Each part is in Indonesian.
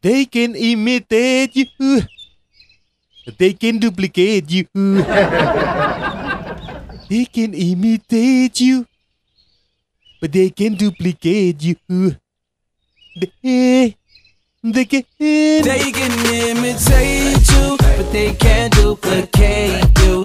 They can imitate you. They can duplicate you. They can imitate you, but they can duplicate you. They can. They can imitate you, but they can't duplicate you.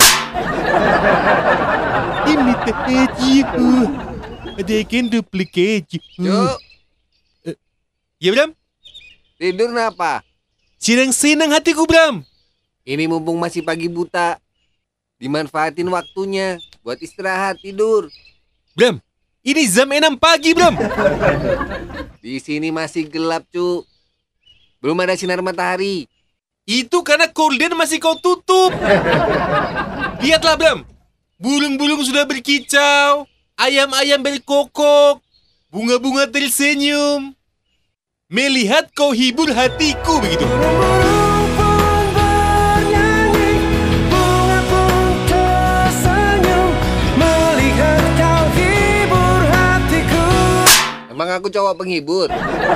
Imitate you, but they can duplicate you. Cuk, Ya Bram, tidur kenapa? senang hatiku Bram. Ini mumpung masih pagi buta. Dimanfaatin waktunya buat istirahat tidur. Bram, ini jam 6 pagi Bram. Di sini masih gelap, Cuk. Belum ada sinar matahari. Itu karena gorden masih kau tutup. Lihatlah Bram, burung-burung sudah berkicau, ayam-ayam berkokok, bunga-bunga tersenyum. Melihat kau hibur hatiku begitu. Burung pun bernyanyi, bunga pun tersenyum, melihat kau hibur hatiku. Emang aku cowok penghibur?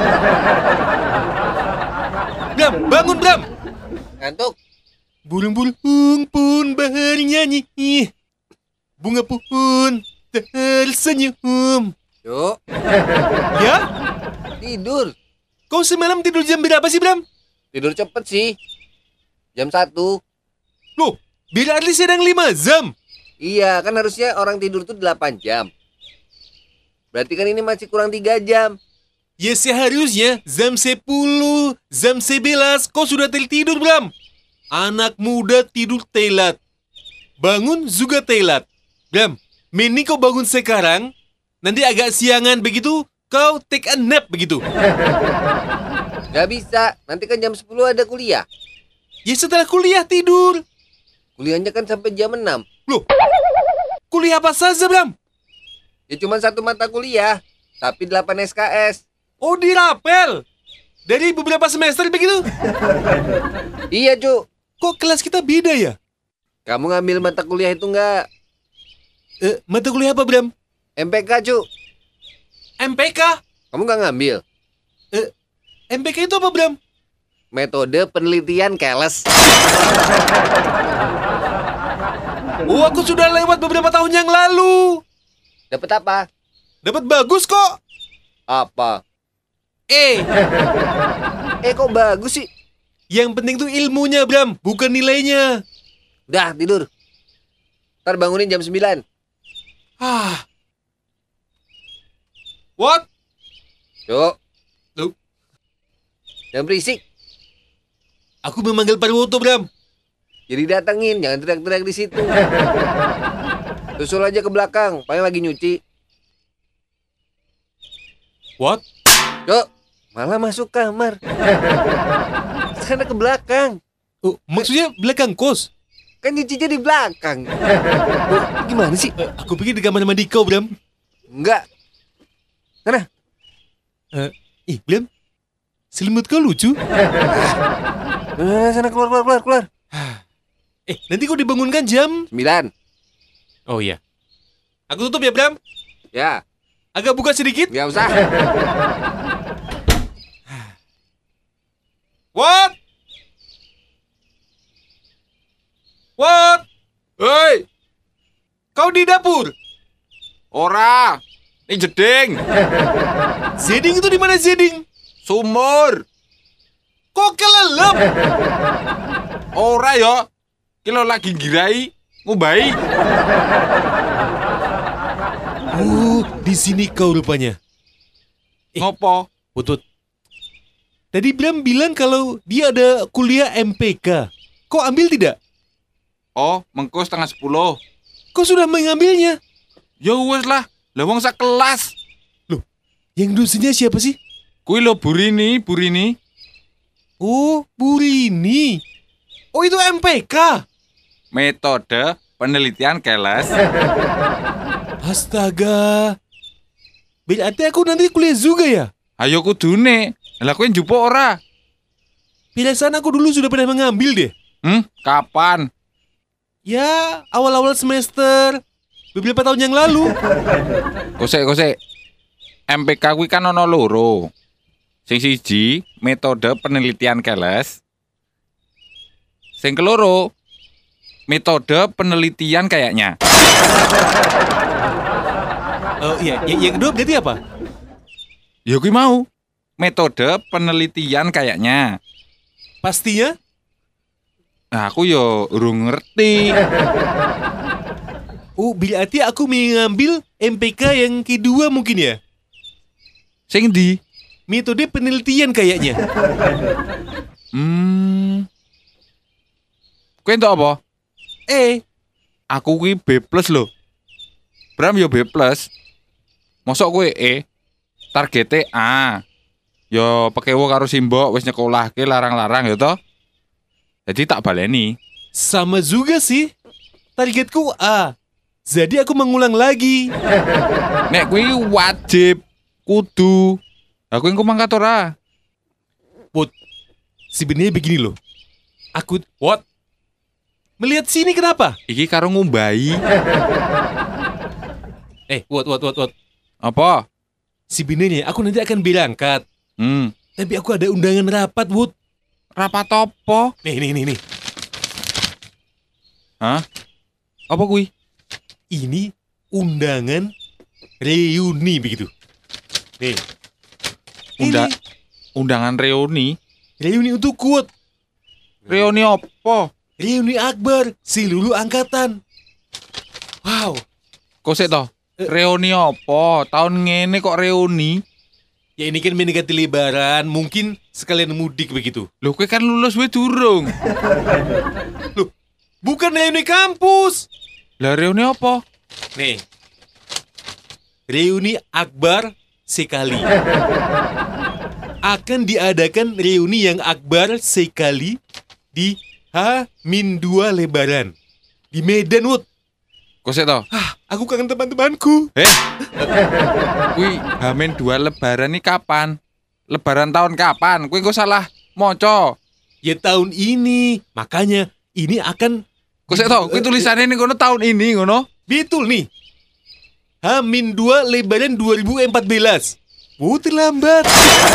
Bram, bangun Bram. Ngantuk? Burung-burung pun bernyanyi, bunga pun tersenyum. Cuk, Ya? tidur. Kau semalam tidur jam berapa sih Bram? Tidur cepet sih. Jam 1. Loh, berarti sedang 5 jam. Iya, kan harusnya orang tidur tuh 8 jam. Berarti kan ini masih kurang 3 jam. Ya seharusnya jam 10, jam 11 kau sudah tertidur Bram. Anak muda tidur telat, bangun juga telat. Bram, mending kau bangun sekarang. Nanti agak siangan begitu, kau take a nap begitu. Gak bisa, nanti kan jam 10 ada kuliah. Ya setelah kuliah tidur. Kuliahnya kan sampai jam 6. Loh, kuliah apa saja Bram? Ya cuma 1 mata kuliah, tapi 8 SKS. Oh dirapel. Dari beberapa semester begitu. Iya, Cuk. Kok kelas kita beda ya? Kamu ngambil mata kuliah itu nggak? Mata kuliah apa Bram? MPK, Cuk. MPK? Kamu nggak ngambil? MPK itu apa Bram? Metode penelitian keles. Oh aku sudah lewat beberapa tahun yang lalu. Dapat apa? Dapat bagus kok. Apa? Kok bagus sih? Yang penting tuh ilmunya Bram, bukan nilainya. Udah, tidur. Ntar bangunin jam 9. What? Cuk. Loh? Jangan berisik. Aku memanggil Parwoto Bram. Jadi datengin, jangan teriak-teriak di situ. Susul aja ke belakang, paling lagi nyuci. What? Cuk, malah masuk kamar. Sana ke belakang. Oh, maksudnya belakang kos? Kan nyucinya di belakang. Oh, gimana sih? Aku pikir di kamar mandi kau Bram. Enggak. Sana. Bram, selimut kau lucu. Sana keluar. Nanti kau dibangunkan jam 9. Oh iya. Aku tutup ya Bram. Ya, Agak buka sedikit. nggak usah. What? Hei, Kau di dapur? ora. Ini jeding. Zeding itu di mana Zeding? Sumur. Kok kelelep? Ora ya. Kilo lagi girai ngubai. Di sini kau rupanya. Ngopo? Putut. Tadi Bram bilang kalau dia ada kuliah MPK. Kau ambil tidak? Oh, mengko 9:30. Kau sudah mengambilnya. Ya wes lah. Lah wong sakelas. Yang dosennya siapa sih? Kuwi lho Burini. Oh, Burini. Oh, itu MPK. Metode penelitian keles. Astaga. Berarti aku nanti kuliah juga ya? Ayo kudune. Lah kowe njupuk ora? Perasaan aku dulu sudah pernah mengambil deh. Kapan? Ya, awal-awal semester. Beberapa tahun yang lalu. Kosek. MPK kuwi kan ono loro. Sing siji, metode penelitian keles. Sing keloro, metode penelitian kayaknya. Oh iya, yang kedua berarti apa? Ya kuwi mau. Metode penelitian kayaknya. Pastinya? Nah, aku yo urung ngerti. Oh, berarti aku mengambil MPK yang kedua mungkin ya? Sing ndi? Metode penelitian kayaknya. Kowe entuk apa? Aku kuwi B+ lho. Bram yo B+. Mosok kowe E? Targete A. Yo pekewo karo simbok wis nyekolahke larang-larang ya toh. Jadi tak baleni. Sama juga sih. Targetku A. Jadi aku mengulang lagi. Nek kuwi wajib kudu. Aku engko mangkat ora. Put, sebenarnya begini loh. Aku, what? Melihat sini kenapa? Iki karo ngumbahi. What? Apa? Sebenarnya aku nanti akan berangkat. Tapi aku ada undangan rapat, Wood. Rapat apa? Nih. Hah? Apa kuwi? Ini undangan reuni begitu. Nih. Ini Undangan reuni. reuni untuk Wood. Reuni apa? Reuni akbar seluruh angkatan. Wow. Kok sik toh? Reuni apa? Tahun ngene kok reuni? Ya ini kan mendekati lebaran, mungkin sekalian mudik begitu. Loh, kowe kan lulus wae durung. Loh, bukan reuni kampus. Lah reuni apa? Nih. Reuni akbar sekali. Akan diadakan reuni yang akbar sekali di H-2 lebaran. Di Medan, Wood. Kok sik toh? Aku kangen teman-temanku. Kuwi H-2 lebaran nih kapan? Lebaran tahun kapan? Kuwi kok salah moco. Ya tahun ini. Makanya ini akan... Kok sik toh? Kuwi tulisannya ning kono tahun ini ngono. Betul nih. H-2 lebaran 2014. Terlambat.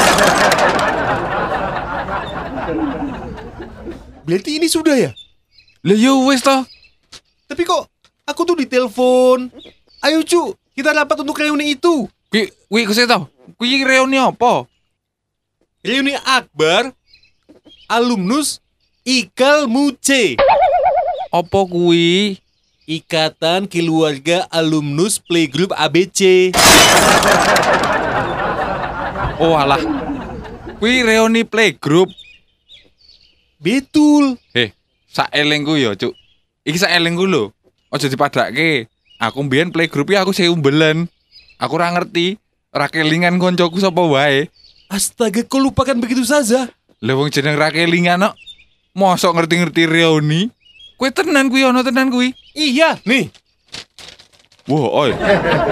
Berarti ini sudah ya? Lah yo wis toh. Tapi kok aku tuh ditelepon. Ayo cu, kita rapat untuk reuni itu. Kuwi kok sik toh? Kuwi reuni apa? Reuni akbar alumnus Ikal Muce. Apa kuwi? Ikatan Keluarga Alumnus Playgroup ABC. Oh alah. Kuwi reuni playgroup. Betul. Saelengku yo, Cuk. Iki saelengku lho. Aja dipadake. Aku mbiyen playgroup aku seumbelen. Aku ora ngerti, ora kelingan koncoku sapa wae. Astaga, kau lupakan begitu saja. Lah wong jeneng ra kelingan kok. Mosok ngerti-ngerti reuni. Kowe tenan kuwi ono tenan kuwi. Iya, nih. Wah, oi.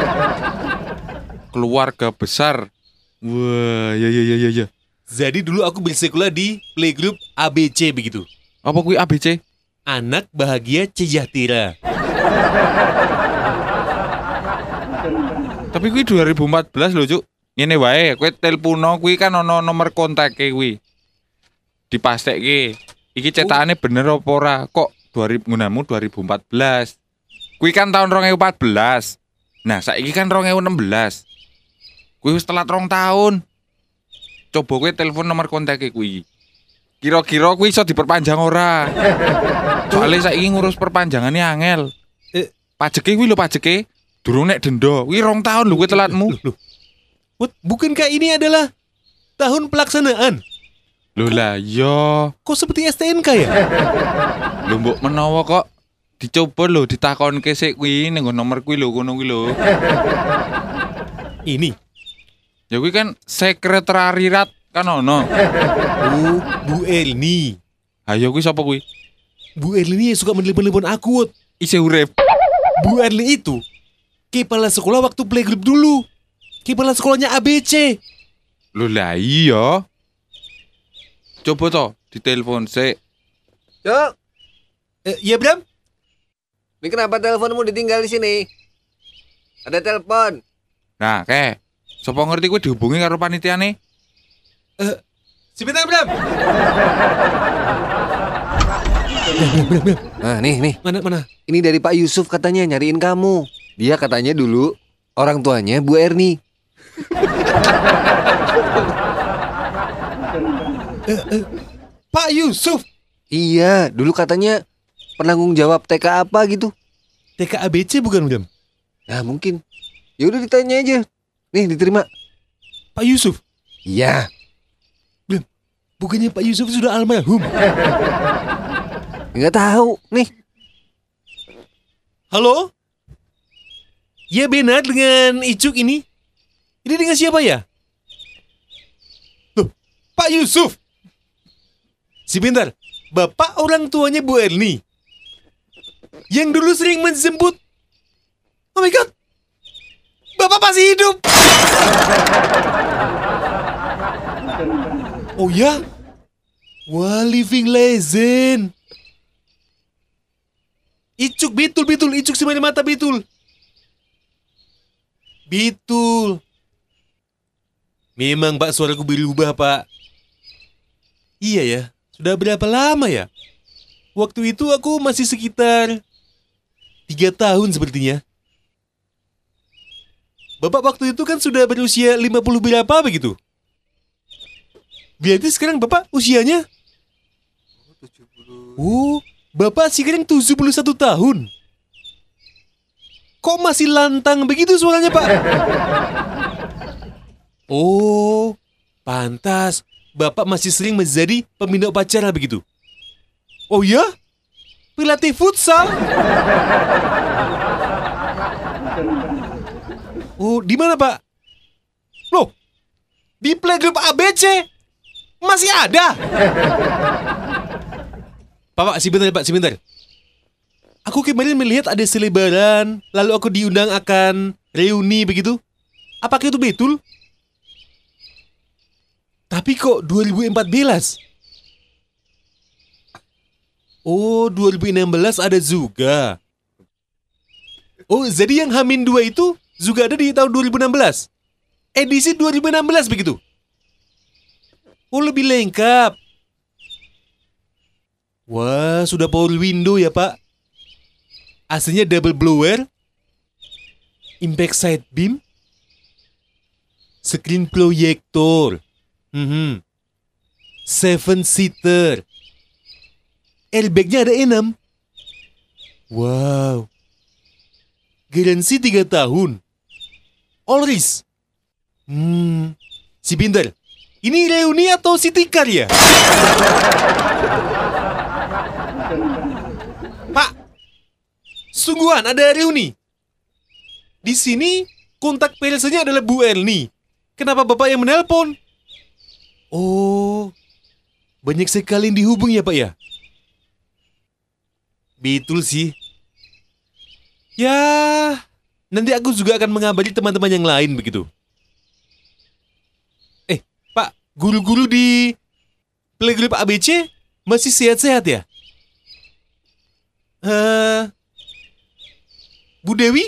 Keluarga besar. Wah, ya. Jadi dulu aku bersekolah di Playgroup ABC begitu. Apa kuwi ABC? Anak Bahagia Sejahtera. Tapi kuwi 2014 lho, Cuk. Ngene wae, kowe telepono kuwi kan ono nomor kontake kuwi. Dipastekke. Iki cetakane bener apa ora? Kok 2000 2014. Kuwi kan tahun 2014. Nah, saiki kan 2016. Kuwi wis telat 2 tahun. Coba kowe telepon nomor kontake kuwi. Kira-kira kuwi iso diperpanjang ora? Soale saiki ngurus perpanjangane angel. Pajeke kuwi lho pajeke. Durung nek denda. Kuwi 2 tahun lho kowe telatmu. Loh. What? Bukankah ini adalah tahun pelaksanaan? Lho lah iya. Kok seperti STNK ya? Lho mbok menawa kok dicoba lho ditakonke sik kuwi ning nomor kuwi lho kono kuwi lho. Ini. Ya kuwi kan sekretariat kan ono. Bu Elni. Ayo kuwi sapa kuwi? Bu Elni yang suka menelpon-telepon aku. Wot. Isih urip. Bu Elni itu kepala sekolah waktu playgroup dulu. Kepala sekolahnya ABC. Lho lah iya. Coba toh ditelepon sik. Cuk, Ya Bram? ini kenapa teleponmu ditinggal di sini? Ada telepon. Nah, sapa ngerti kuwi dihubungi karo panitiane? Sebentar, Bram. Nah, nih. Mana? Ini dari Pak Yusuf katanya nyariin kamu. Dia katanya dulu orang tuanya Bu Erni. Pak Yusuf. Iya, dulu katanya penanggung jawab TK apa gitu. TKABC bukan, Bram? Nah, mungkin. Ya udah ditanya aja. Nih, diterima. Pak Yusuf. Iya. Bukannya Pak Yusuf sudah almarhum? Nggak tahu. Nih. Halo? Ya benar dengan Icuk ini? Ini dengan siapa ya? Loh, Pak Yusuf. Sebentar, bapak orang tuanya Bu Erni yang dulu sering menjemput. Oh my god, bapak masih hidup. Oh ya? Wah, living legend. Icuk, betul. Icuk semari mata, betul. Betul. Memang Pak suaraku berubah, Pak. Iya ya, sudah berapa lama ya? Waktu itu aku masih sekitar 3 tahun sepertinya. Bapak waktu itu kan sudah berusia 50 berapa begitu? Berarti sekarang Bapak usianya? Oh, Bapak sekarang 71 tahun. Kok masih lantang begitu suaranya, Pak? Oh, pantas Bapak masih sering menjadi pembina upacara begitu. Oh ya? Pelatih futsal? Oh, di mana, Pak? Loh, di playgroup ABC masih ada. Pak, sebentar. Aku kemarin melihat ada selebaran, lalu aku diundang akan reuni begitu. Apakah itu betul? Tapi kok 2014? Oh, 2016 ada juga. Oh, jadi yang H-2 itu juga ada di tahun 2016? Edisi 2016 begitu? Oh, lebih lengkap. Wah, sudah power window ya, Pak. AC-nya double blower, impact side beam, screen projector, 7-seater, airbagnya ada 6. Wow. Garansi 3 tahun. All risk. Si pintar. Ini reuni atau city car ya? Pak, sungguhan ada reuni. Di sini kontak personnya adalah Bu Erni. Kenapa Bapak yang menelpon? Oh, banyak sekali yang dihubung ya, Pak ya? Betul sih. Ya, nanti aku juga akan mengabari teman-teman yang lain begitu. Pak, guru-guru di playgroup ABC masih sehat-sehat ya? Bu Dewi?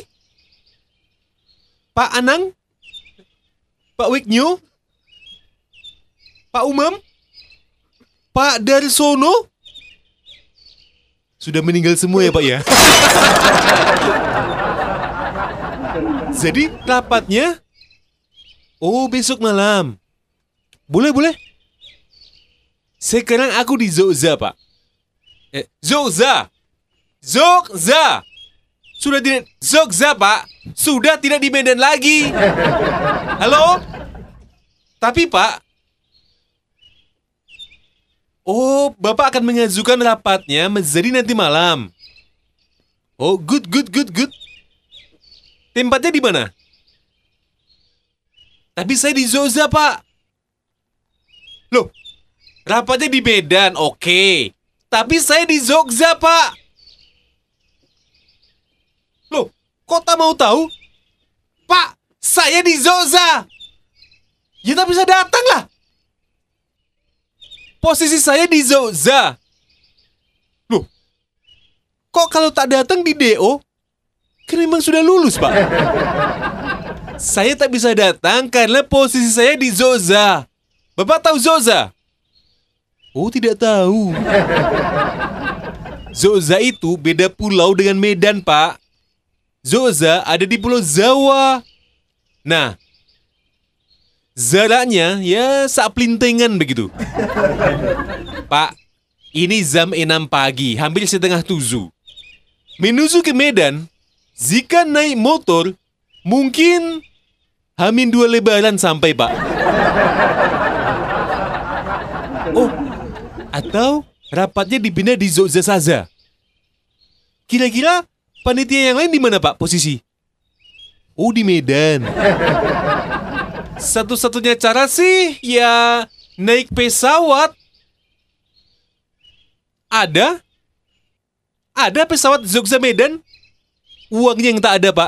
Pak Anang? Pak Wiknyo? Pak Umam? Pak Darsono? Sudah meninggal semua ya, Pak ya? Jadi rapatnya? Oh, besok malam. Boleh. Sekarang aku di Zogza, Pak. Zogza! Sudah tidak Zogza, Pak. Sudah tidak di Medan lagi. Halo? Tapi, Pak. Oh, Bapak akan mengajukan rapatnya menjadi nanti malam. Oh, good. Tempatnya di mana? Tapi saya di Zogza, Pak. Loh, rapatnya di Medan, oke. Tapi saya di Zogza, Pak. Loh, kok tak mau tahu? Pak, saya di Zogza. Ya tak bisa datang lah. Posisi saya di Zogza. Loh, kok kalau tak datang di DO? Kan memang sudah lulus, Pak. Saya tak bisa datang karena posisi saya di Zogza. Bapak tahu Zoza? Oh, tidak tahu. Zoza itu beda pulau dengan Medan, Pak. Zoza ada di Pulau Jawa. Nah, jaraknya ya saplintengan begitu. Pak, ini jam 6 pagi, hampir setengah 7. Menuju ke Medan, jika naik motor, mungkin Hamin 2 lebaran sampai, Pak. Oh, atau rapatnya dipindah di Jogja saja. Kira-kira panitia yang lain di mana, Pak, posisi? Oh, di Medan. Satu-satunya cara sih ya naik pesawat. Ada pesawat Jogja Medan. Uangnya yang tak ada, Pak.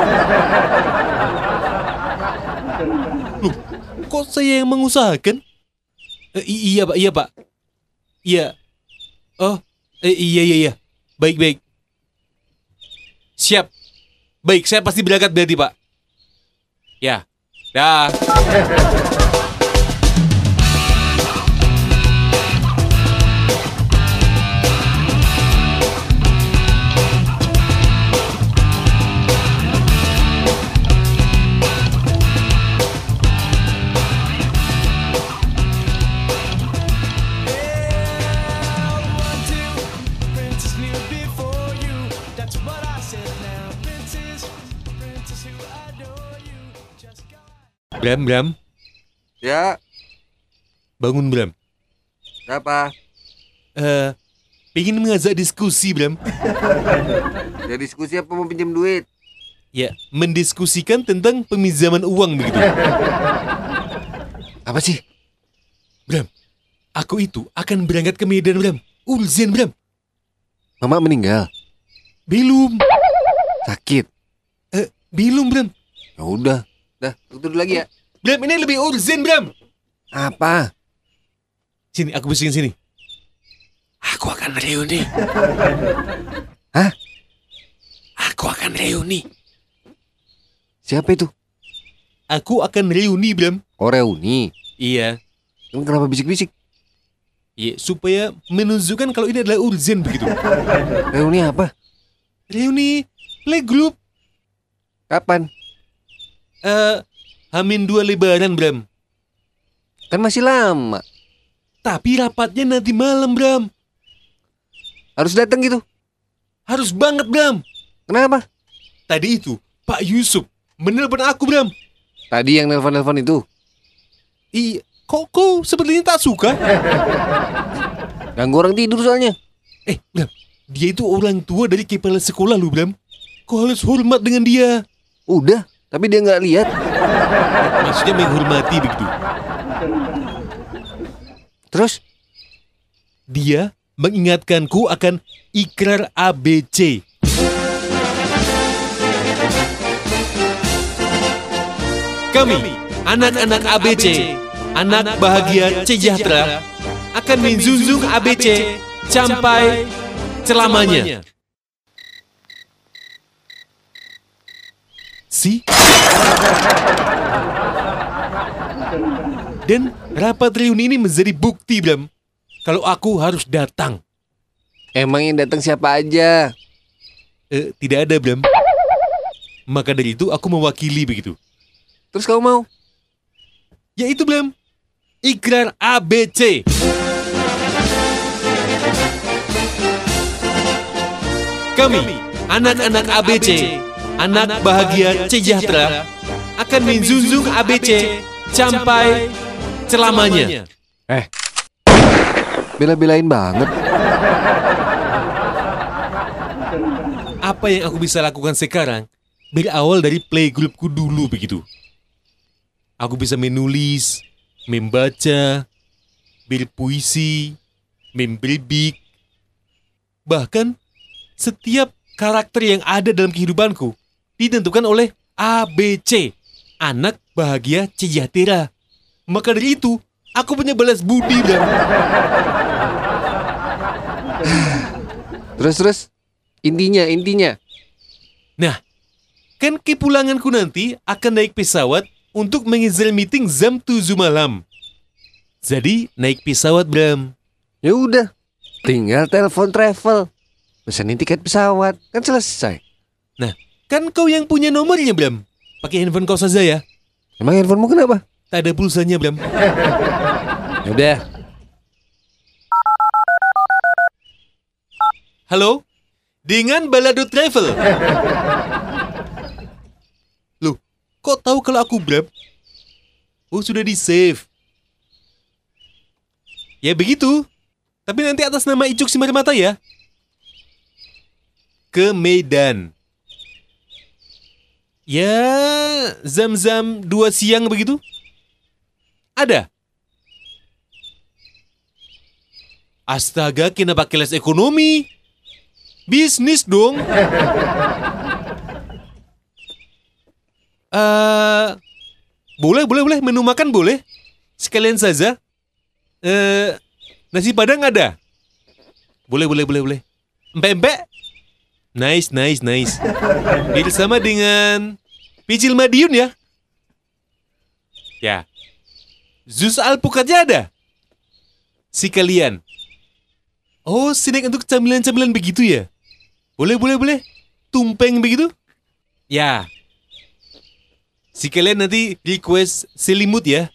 Loh, kok saya yang mengusahakan? Iya, Pak, iya, Pak. Iya. Oh, iya. Baik. Siap. Baik, saya pasti berangkat berarti, Pak. Ya. Dah. Princess knew before you. That's what I said now. Princess who adore you. Just got. Bram. Ya, Bangun, Bram. apa? Pengen mengajak diskusi, Bram. Ya diskusi apa mau pinjam duit? Ya, mendiskusikan tentang peminjaman uang begitu. Apa sih? Bram, aku itu akan berangkat ke Medan, Bram. Urgen, Bram. Mama meninggal. Belum. Sakit. Belum, Bram. Ya udah. Dah, tutup lagi ya. Bram, ini lebih urgen, Bram. Apa? Sini, aku bisikin sini. Aku akan reuni. Hah? Aku akan reuni. Siapa itu? Aku akan reuni, Bram. Oh, reuni. Iya. Emang kenapa bisik-bisik? Iya, supaya menunjukkan kalau ini adalah urgen begitu. Reuni apa? Reuni playgroup. Kapan? Hamin 2 lebaran, Bram. Kan masih lama. Tapi rapatnya nanti malam, Bram. Harus datang gitu. Harus banget, Bram. Kenapa? Tadi itu Pak Yusuf menelpon aku, Bram. Tadi yang nelpon-nelpon itu. Iya, kok sepertinya tak suka? Ganggu orang tidur soalnya. Bram, dia itu orang tua dari kepala sekolah lu, Bram. Kau harus hormat dengan dia. Udah, tapi dia nggak lihat. Maksudnya menghormati begitu. Terus? Dia mengingatkanku akan ikrar ABC. Kami, anak-anak ABC, anak bahagia sejahtera, akan menjunjung ABC sampai selamanya. Dan rapat reuni ini menjadi bukti, Bram, kalau aku harus datang. Emang yang datang siapa aja? Tidak ada, Bram. Maka dari itu aku mewakili begitu. Terus kamu mau? Ya itu, Bram. Ikrar ABC. Kami, anak-anak ABC, anak bahagia sejahtera, akan menjunjung ABC sampai selamanya. Bela-belain banget. Apa yang aku bisa lakukan sekarang berawal dari playgroupku dulu begitu. Aku bisa menulis, membaca, berpuisi, memberbik. Bahkan setiap karakter yang ada dalam kehidupanku ditentukan oleh ABC, anak bahagia sejahtera. Maka dari itu, aku punya balas budi, Bram. Terus intinya. Nah, kan kepulanganku nanti akan naik pesawat untuk mengejar meeting jam 7 malam. Jadi naik pesawat, Bram. Ya udah, tinggal telepon travel. Pesenin tiket pesawat, kan selesai. Nah, kan kau yang punya nomornya, Bram. Pakai handphone kau saja ya. Emang handphonemu kenapa? Tak ada pulsanya, Bram. Ya udah. Halo? Dengan Balado Travel. Loh, kok tahu kalau aku Bram? Oh, sudah di-save. Ya begitu. Tapi nanti atas nama Icuk Simarmata ya. Ke Medan. Ya, jam-jam 2 siang begitu. Ada. Astaga, kenapa kelas ekonomi? Bisnis dong. Boleh. Menu makan boleh. Sekalian saja. Nasi Padang ada. Boleh. Empek-empek. Nice. Bersama dengan picil Madiun ya. Ya. Jus alpukatnya ada. Sekalian. Oh, snack untuk camilan-camilan begitu ya? Boleh. Tumpeng begitu? Ya. Sekalian nanti request selimut ya.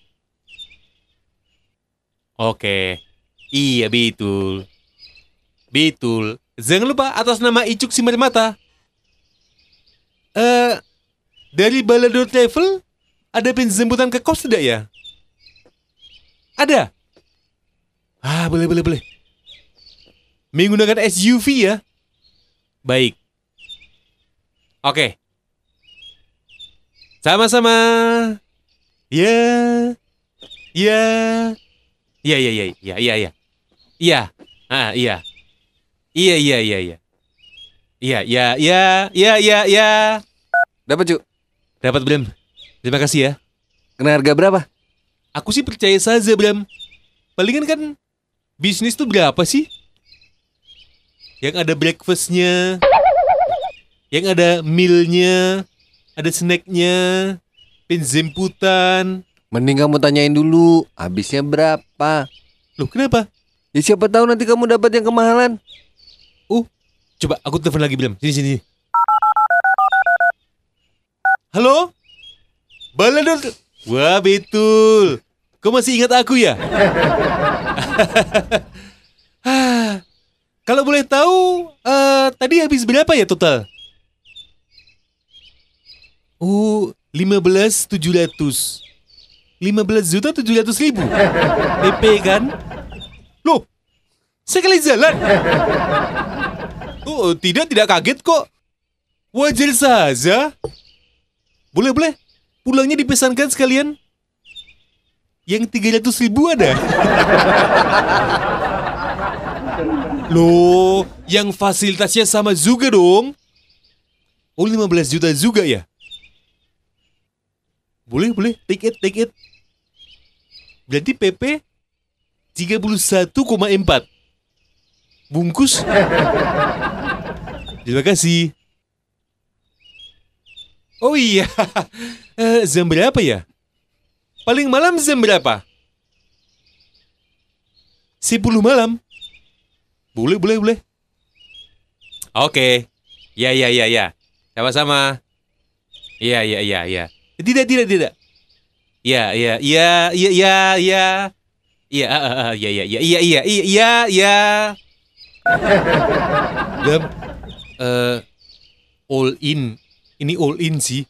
Oke. Iya, betul. Jangan lupa atas nama Icuk Simarmata. Dari Balado Travel ada penjemputan ke kos tidak ya? Ada. Boleh. Menggunakan SUV ya? Baik. Oke. Sama-sama. Ya. Iya. Iya. Dapat, Cuk. Dapat, Bram. Terima kasih ya. Kena harga berapa? Aku sih percaya saja, Bram. Palingan kan bisnis tuh berapa sih? Yang ada breakfastnya, yang ada mealnya, ada snacknya, penjemputan. Mending kamu tanyain dulu, habisnya berapa? Loh, kenapa? Ya siapa tahu nanti kamu dapat yang kemahalan. Coba aku telepon lagi, Bram. Sini. Halo? Balado. Wah, betul. Kau masih ingat aku ya? Kalau boleh tahu, tadi habis berapa ya total? 15.700. 15.700.000. PP kan? Loh, sekali jalan. Oh, tidak kaget kok. Wajar saja. Boleh. Pulangnya dipesankan sekalian. Yang 300.000 ada. Loh, yang fasilitasnya sama juga dong. Oh, 15 juta juga ya? Boleh. Take it. Berarti PP 31,4. Bungkus. Terima kasih. Oh iya. Jam berapa ya? Paling malam jam berapa? 10 malam. Boleh. Oke. Ya. Sama-sama. Iya. Tidak. Iya. Bram, all in. Ini all in sih.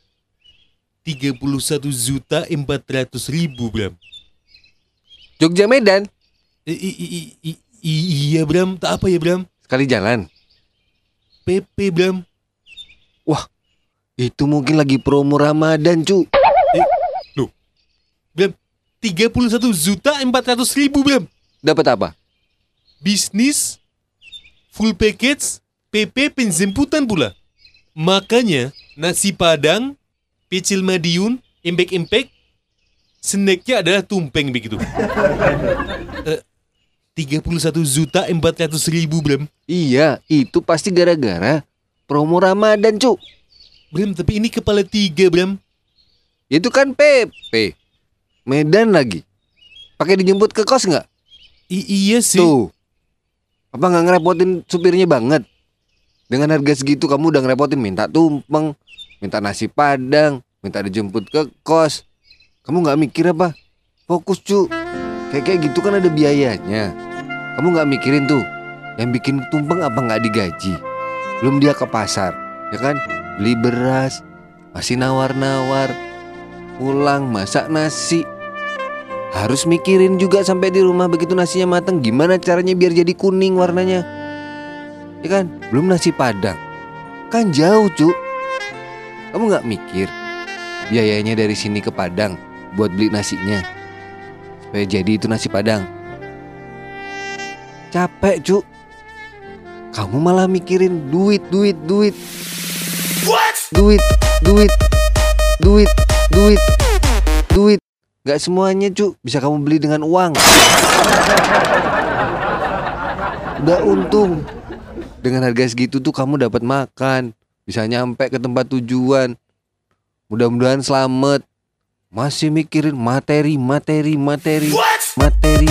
31.400.000, Bram. Jogja Medan, Iya, Bram. Tak apa ya, Bram? sekali jalan. PP, Bram. Wah, itu mungkin lagi promo Ramadan, Cuk. Loh, Bram. 31.400.000, Bram. Dapat apa? Bisnis, full package, PP penjemputan pula. Makanya nasi Padang, pecel Madiun, empek-empek, snacknya adalah tumpeng begitu. 31.400.000, Bram. Iya, itu pasti gara-gara promo Ramadan, Cuk. Bram, tapi ini kepala 3, Bram. Itu kan PP. Medan lagi. Pakai dijemput ke kos nggak? Iya sih. Tuh. Apa nggak ngerepotin supirnya banget? Dengan harga segitu kamu udah ngerepotin, minta tumpeng, minta nasi padang, minta dijemput ke kos. Kamu nggak mikir apa? Fokus cu. Kayak gitu kan ada biayanya. Kamu nggak mikirin tuh, yang bikin tumpeng apa nggak digaji? Belum dia ke pasar, ya kan? Beli beras, masih nawar-nawar, pulang masak nasi. Harus mikirin juga sampai di rumah begitu nasinya mateng, gimana caranya biar jadi kuning warnanya. Ya kan? Belum nasi padang. Kan jauh, Cuk. Kamu nggak mikir biayanya dari sini ke Padang buat beli nasinya, supaya jadi itu nasi padang. Capek, Cuk. Kamu malah mikirin duit. Duit. Gak semuanya, Cuk, bisa kamu beli dengan uang. Udah untung. Dengan harga segitu tuh kamu dapat makan, bisa nyampe ke tempat tujuan. Mudah-mudahan selamat. Masih mikirin materi. Materi. Materi. Materi.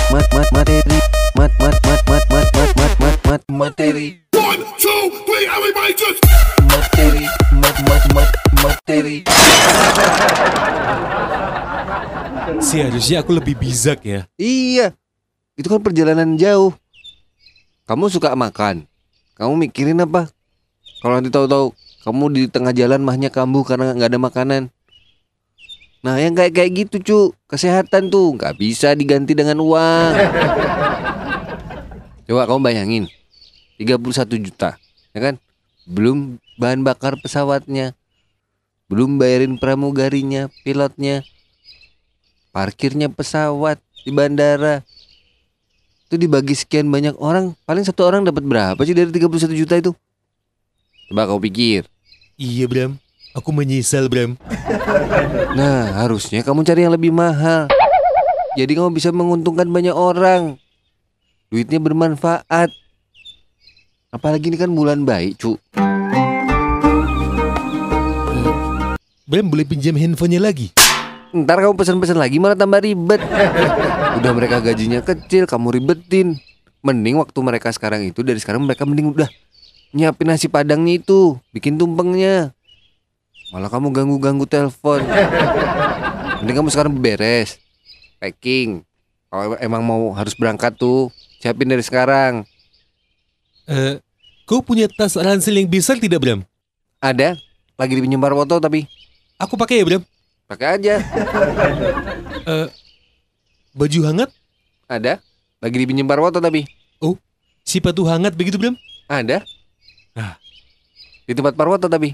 Seharusnya aku lebih bijak ya. Iya. Itu kan perjalanan jauh. Kamu suka makan. Kamu mikirin apa? Kalau nanti tahu-tahu kamu di tengah jalan mahnya kambuh karena nggak ada makanan. Nah, yang kayak gitu, cu, kesehatan tuh nggak bisa diganti dengan uang. Coba kamu bayangin, 31 juta, ya kan? Belum bahan bakar pesawatnya, belum bayarin pramugarinya, pilotnya, parkirnya pesawat di bandara. Itu dibagi sekian banyak orang, paling satu orang dapat berapa sih dari 31 juta itu? Coba kau pikir. Iya Bram, aku menyesal Bram. Nah, harusnya kamu cari yang lebih mahal. Jadi kamu bisa menguntungkan banyak orang. Duitnya bermanfaat. Apalagi ini kan bulan baik, cu. Bram boleh pinjam handphonenya lagi? Ntar kamu pesan-pesan lagi malah tambah ribet. Udah mereka gajinya kecil, kamu ribetin. Mending waktu mereka sekarang itu, dari sekarang mereka mending udah nyiapin nasi padangnya itu, bikin tumpengnya. Malah kamu ganggu-ganggu telepon. Mending kamu sekarang beres, packing. Kalau emang mau harus berangkat tuh, siapin dari sekarang. Kau punya tas ransel yang besar tidak Bram? Ada, lagi dipinjam Parwoto tapi Aku pakai ya Bram. pakai aja. Baju hangat? Ada, lagi dipinjam Parwoto tapi Sepatu hangat begitu Bram? ada. Ah. Di tempat Parwoto tapi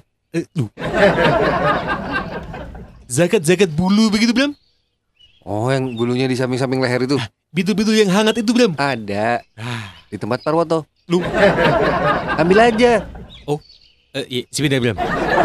Zakat bulu begitu Bram? oh, yang bulunya di samping-samping leher itu Bitul-bitul yang hangat itu Bram? ada di tempat Parwoto. Lu? Ambil aja. Iya, sebentar Bram.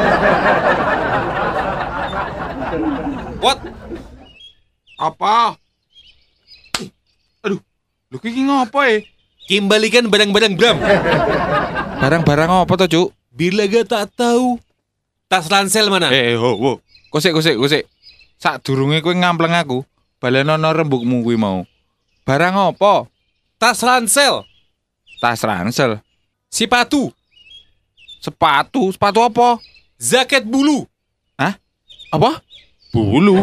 What? Apa? Aduh, lu ki ngopo ya? Kembalikan barang-barang Bram. Barang-barang apa tuh, Cuk? Bila gak tak tahu. Tas ransel mana? Ho. Kosek. Sadurunge kowe ngampleng aku, balenono rembugmu kuwi mau. Barang apa? Tas ransel. Tas ransel. Sepatu. Sepatu apa? Zaket bulu. Apa? Bulu.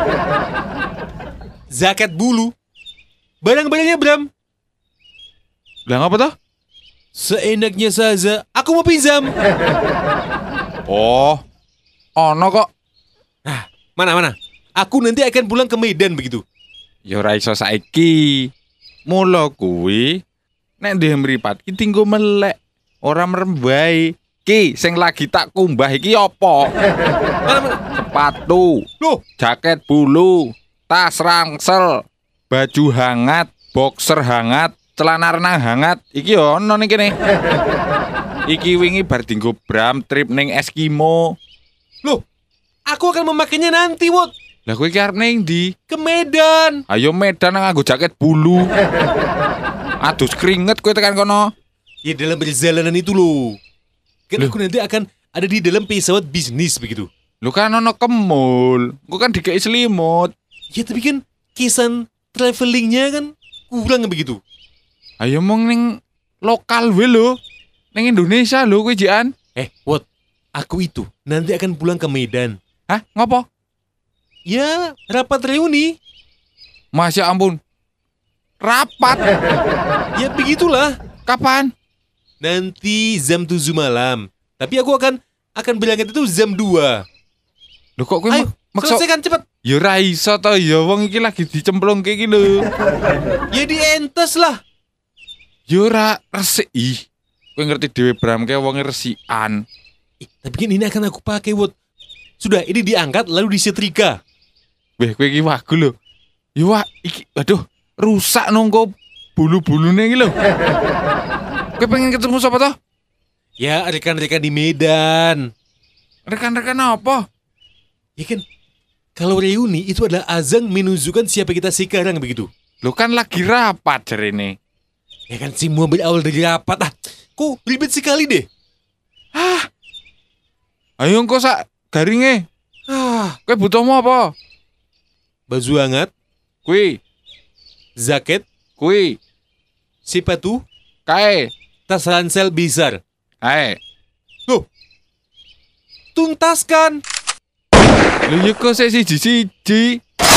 Zaket bulu. Barang-barangnya Bram. Lah apa tuh? Seenaknya saja. Aku mau pinjam. Oh. Ono kok. Mana? Aku nanti akan pulang ke Medan begitu. Ya ora iso saiki. Mula kuwi nek ndek mripat ki tinggo melek, ora merembai. Ki sing lagi tak kumbah iki apa? Mana? Sepatu, Loh, jaket bulu, tas ransel, baju hangat, boxer hangat, celana renang hangat. Iki yo ono ning kene. Iki wingi bar dinggo Bram trip ning Eskimo. loh. Aku akan memakainya nanti, Wot. Lah kowe iki arep ning ndi? Ke Medan. Ayo Medan nganggo jaket bulu. Adus keringet kowe tekan kono. Ya dalam perjalanan itu loh. Kan aku nanti akan ada di dalam pesawat bisnis begitu. Lu kan ono kemul, gua kan dikei selimut. Ya tapi kan kesan travelingnya kan kurang begitu. Ayo mong ning lokal we lho. Ning Indonesia lho kuwi jian. Wot, aku itu nanti akan pulang ke Medan. Hah, ngopo? Ya, rapat reuni. Masya ampun. Rapat. Ya begitulah. Kapan? Nanti jam 7 malam. Tapi aku akan berangkat itu jam 2. Lho kok kuwi Ayo, maksud selesaikan cepat. ya ra iso to ya wong iki lagi dicemplungke iki lho. Ya dientes lah. Ya ora resik. Ih. Kowe ngerti dhewe Bram kae wonge resikan. Tapi kan ini akan aku pakai, Wot. Sudah, ini diangkat lalu disetrika. Weh kowe iki wagu lho. Ya wah iki aduh rusak nongko bulu-bulune iki lho. Kowe pengen ketemu sapa toh? Ya, rekan-rekan di Medan. Rekan-rekan apa? Ya kan, kalau reuni itu adalah azan menunjukkan siapa kita sekarang begitu. Lo kan lagi rapat jarene. Ya kan, semua berawal dari rapat. Kok ribet sekali deh. Ayo engko sak garinge. Kowe butuhmu apa? Baju hangat, Kuwi, jaket, kuwi, sepatu, kae. tas ransel besar. Ae. Tuntaskan. Lho ya kok siji-siji.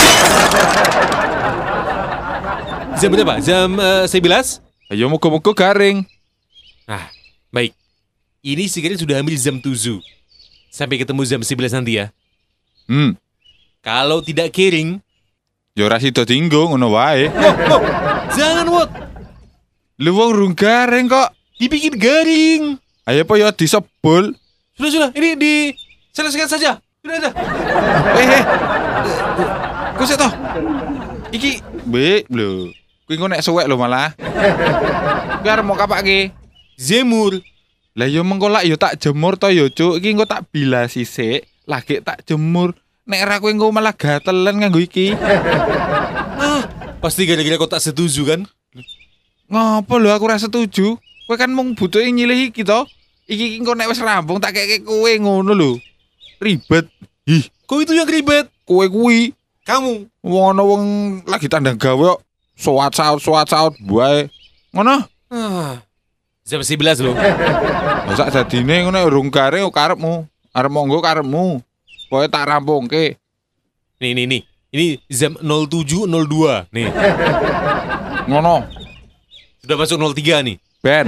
Jam berapa? Jam 11? Ayo muga-muga garing. Nah, baik. Ini sekarang sudah hampir jam 7. Sampai ketemu jam 11 nanti ya. Kalau tidak kering, Ya ora sida dinggo ngono wae. jangan, Wot. Lho wong rung garing kok. Dibikin garing. Ayo apa ya disebul. Sudah. Ini diselesaikan saja. Sudah. Kok sik toh? Iki lho. Kuwi engko nek suwek lho malah. Kuwi arep mau kapake. Jemur. Lah yo mengko lak yo tak jemur to yo, Cuk. Iki engko tak bilas sisik, lagi tak jemur. Nek ra kowe engko malah gatelen nganggo iki. Pasti gara-gara kau tak setuju kan? Ngopo lho aku ra setuju. Kowe kan mung butuh nyilih iki to. Iki engko nek wis rampung tak keke kowe ngono lho. Ribet. Ih, Kau itu yang ribet. kowe kuwi Kamu. wong ana wong lagi tandang gawe kok soat saut bae. Ngono. Jam 11 loh. Lah sak dadine ngono urung garing kok karepmu. Arep monggo karepmu. Pokoke tak rampungke. Nih. Ini jam 07.02. Nih. Ngono. Sudah masuk 03 nih. Ben.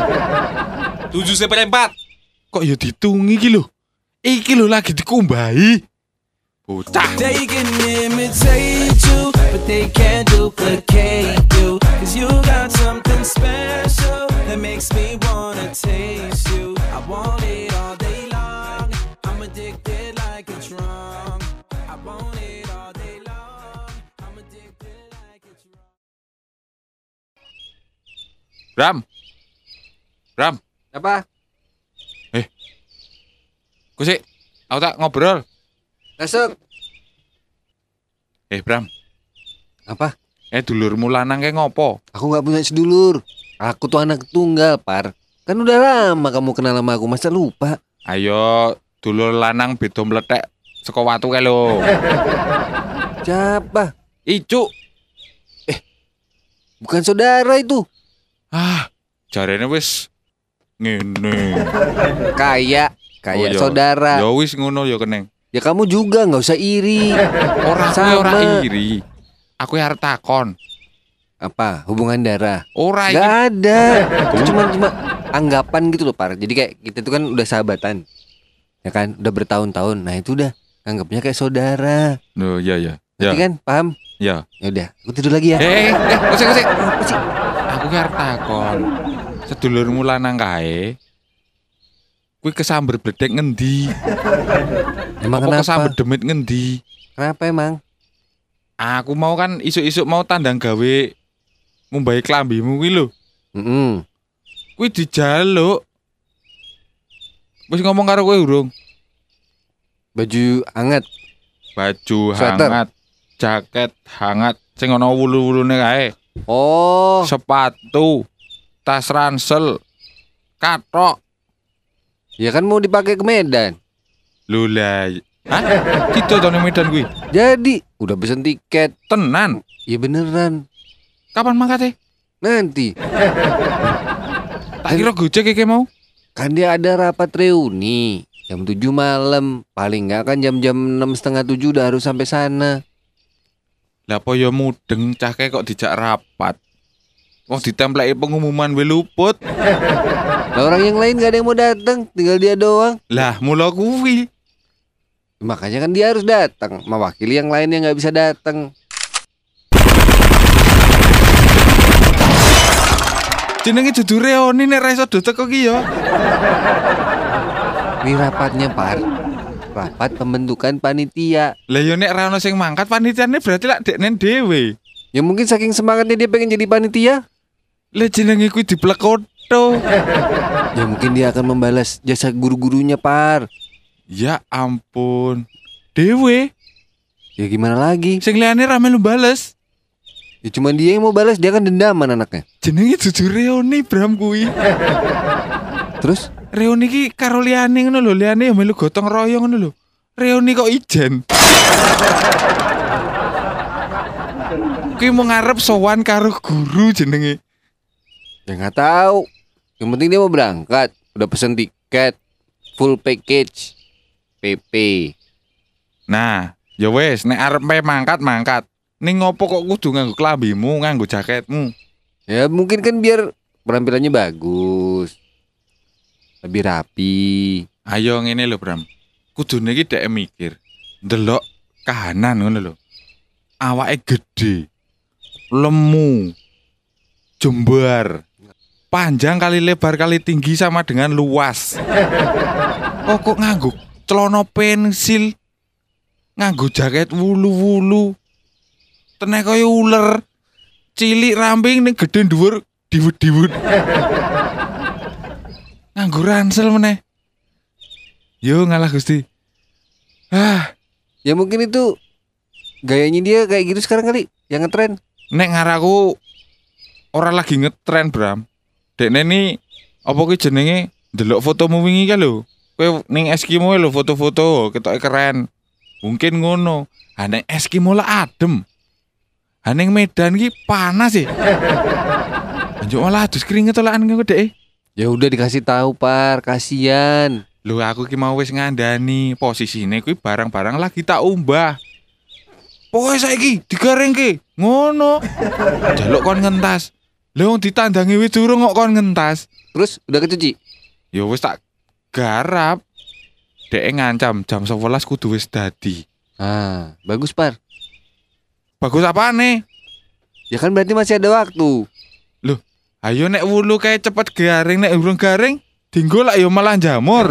7/4. Kok ya ditungi iki lho. Iki lho lagi dikumbahi. Bocah. They can imitate you, but they can't duplicate you. 'Cause you got something special that makes me wanna taste you. I want it all day long. I'm addicted like a drug. I want it all day long. I'm addicted like a drug. Bram. Apa? Ku sik, aku tak ngobrol. Masuk. Bram. Apa? Dulurmu lanang kayak ngopo? Aku nggak punya sedulur. Aku tuh anak tunggal, Par. Kan udah lama kamu kenal sama aku, masa lupa? Ayo, dulur lanang beda meletek saka watu kae lho. Siapa? Icu. Bukan saudara itu. Jarene wis ngene. Kayak Oh, iya. saudara. Ya wis ngono ya keneng. Ya kamu juga nggak usah iri. Ora Sama. ora iri. Aku arep takon. Apa? Hubungan darah? Ora iki. Gak ada. Itu cuma anggapan gitu loh, Par. Jadi kayak kita tuh kan udah sahabatan. Ya kan? Udah bertahun-tahun. Nah, itu udah anggapnya kayak saudara. Loh, iya. Ngerti kan? Paham? Ya. Ya udah, aku tidur lagi ya. Kosek. Apa sih? Aku ki arep takon. Sedulurmu lanang kae. Kuwi kesamber bledek ngendi? Emang Apa kenapa? kesamber demit ngendi? Kenapa emang? Aku mau kan isuk-isuk mau tandang gawe ngumbahi klambimu kuwi lho. Kuwi dijaluk. Wis ngomong karo kowe urung? Baju hangat. Baju Sweater. hangat, jaket hangat sing ana wulu-wulune kae. Oh, Sepatu, tas ransel, katok. ya kan mau dipakai ke Medan. Lho lah, Hah? Gitu to ning Medan kuwi. Jadi, udah pesen tiket. Tenan. Ya beneran. Kapan mangkate? Nanti. Tak kira gojek iki mau. Kan dia ada rapat reuni. Jam 7 malam. Paling nggak kan jam-jam 6:30 udah harus sampai sana. Lah apa ya mudeng cahke kok dijak rapat. Wong ditempleki pengumuman we luput. Lah orang yang lain gak ada yang mau datang, tinggal dia doang. Lah mula kuwi. Makanya kan dia harus datang, mewakili yang lain yang nggak bisa datang. Jenenge dudu reoni nek ra iso do teko ki ya. Ini rapatnya Par. Rapat pembentukan panitia. Lah ya nek ra ono sing mangkat panitiane berarti lak deknen dhewe. Ya mungkin saking semangatnya dia pengen jadi panitia. Lah jenenge kuwi diplekoto. Ya mungkin dia akan membalas jasa guru-gurunya Par. Ya ampun. Dewe, Ya gimana lagi? sing liyane ra melu bales. Ya cuman dia yang mau balas, dia kan dendaman anaknya. Jenenge dudu reoni Bram kuwi. Terus? Reoni ki karo liyane ngono lho, liyane ya melu gotong royong ngono lho. Reoni kok ijen. Kuwi mau ngarep sowan karo guru jenenge. Ya nggak tahu. Yang penting dia mau berangkat, udah pesen tiket, full package, PP. Nah, ya wis nek arep mangkat. Ning ngopo kok kudu nganggo klambimu, nganggo jaketmu? Ya mungkin kan biar penampilannya bagus, lebih rapi. Ayo ngene lho, Bram. Kudune iki dhek mikir. Ndelok kahanan ngono lho. Awake gede. Lemu. Jembar. Panjang kali lebar kali tinggi sama dengan luas. Kok nganggo celana pensil. Nganggo jaket wulu-wulu. Tenek kaya uler. Cilik ramping ning gedhe dhuwur diwud-diwud. Nganggo ransel meneh. Yo ngalah Gusti. Ya mungkin itu gayanya dia kayak gitu sekarang kali, yang ngetren. Nek ngaraku ora lagi ngetren, Bram. Dekne ni apa kuwi jenenge ndelok fotomu wingi ka lho. Kowe ning Eskimo lho foto-foto ketoke keren. Mungkin ngono. Ha ning Eskimo lah adem. Ha ning Medan ki panas sih. Anjuk malah adus keringet olahan kok dek. Ya udah dikasih tahu Par, kasihan. Lho aku ki mau wis ngandani posisine kuwi barang-barang lagi tak umbah. Pokoke saiki digaringke. Ngono. Jaluk kon ngentas. Lha wong ditandangi wis durung kok kon ngentas. Terus udah kecuci? Ya wis tak garap. Dek ngancam jam 11 kudu wis dadi. Ah, bagus Par. Bagus apane? Ya kan berarti masih ada waktu. Loh, ayo nek wulu kayak cepet garing, nek urung garing dinggo lak ya malah jamur.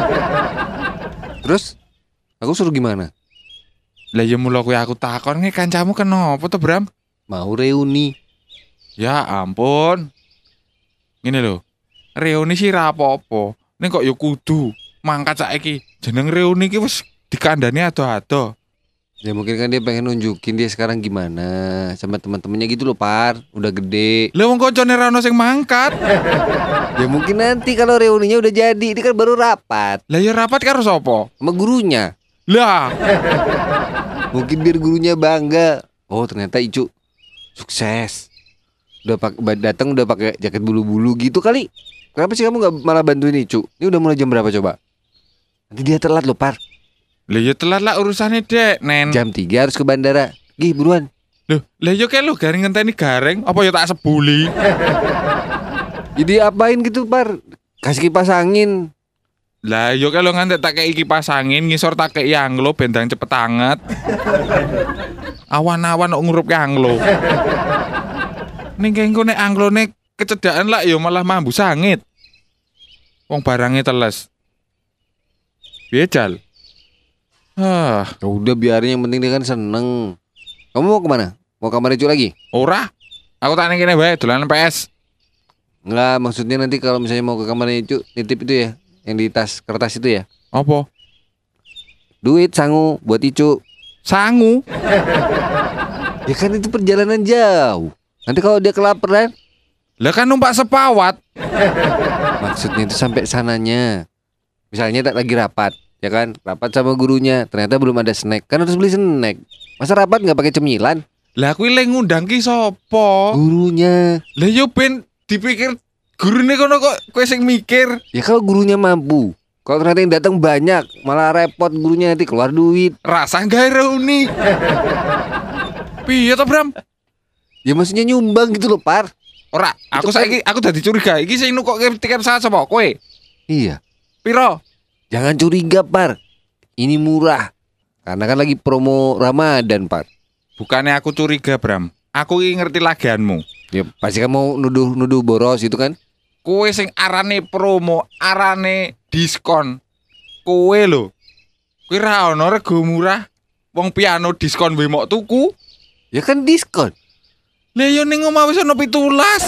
Terus aku suruh gimana? Lah ya mula kowe aku takon nge kancamu kenapa to, Bram? Mau reuni. Ya ampun. Ngene lho. Reuni sih ra apa-apa. Ning kok ya kudu mangkat saiki. Jeneng reuni ki wis dikandani ado-ado. Ya mungkin kan dia pengen nunjukin dia sekarang gimana sama teman-temannya gitu loh Par, udah gede. Lah wong koncone ra ono sing mangkat. Ya mungkin nanti kalau reuninya udah jadi, ini kan baru rapat Lah ya rapat karo sapa? sama gurunya. Lah, Mungkin biar gurunya bangga. Oh ternyata Icu sukses. Udah datang udah pakai jaket bulu-bulu gitu kali. Kenapa sih kamu nggak malah bantuin Icu? Ini udah mulai jam berapa coba? Nanti dia telat loh Par. lah ya telat lah urusannya dek, Nen. Jam 3 harus ke bandara. Gih buruan. Loh, lah yo kayak lu garing ngenteni garing, apa ya tak sebuli? Jadi apain gitu Par? Kasih kipas angin. Lah yo kayak lu ngantek tak kayak kipas angin, ngisor tak kayak yanglo bendang cepet anget. Awan-awan kok ngurup yanglo. Ning kengko nek anglone kecedaan lah yo malah mambu sangit. Wong barangnya teles. Piye Jal? Ya udah biarin, yang penting dia kan seneng. Kamu mau kemana? Mau kamar Icu lagi? Ora. Aku tak kene wae dolanan PS. Enggak, maksudnya nanti kalau misalnya mau ke kamarnya Icu, nitip itu ya, yang di tas kertas itu ya. Apa? Duit sangu buat Icu. Sangu. Ya kan itu perjalanan jauh. Nanti kalau dia kelaparan, Lah kan numpak sepawat. maksudnya itu sampai sananya. Misalnya tak lagi rapat, ya kan, rapat sama gurunya. Ternyata belum ada snack, kan harus beli snack. Masa rapat nggak pakai cemilan? Lah kuwi le ngundang ki sapa? Gurunya. Lah yo ben dipikir gurune kono kok kowe sing mikir. Ya kalau gurunya mampu. Kalau ternyata yang datang banyak, malah repot gurunya, nanti keluar duit. Rasa gawe reuni. Piye to, Bram? Ya maksudnya nyumbang gitu loh, Par. Ora, aku saiki aku dadi curiga. Iki sing nukokke tiket pesawat sapa? Kowe? Iya. Piro? Jangan curiga, Par. Ini murah. Karena kan lagi promo Ramadan, Par. Bukannya aku curiga, Bram. Aku iki ngerti lagianmu. Ya pasti kan mau nuduh boros itu kan. Kowe sing arane promo, arane diskon. Kowe lho. Kowe ra ono rego murah. Wong piano diskon wae mok tuku. Ya kan diskon. Lah yo ning omah wis ono 17.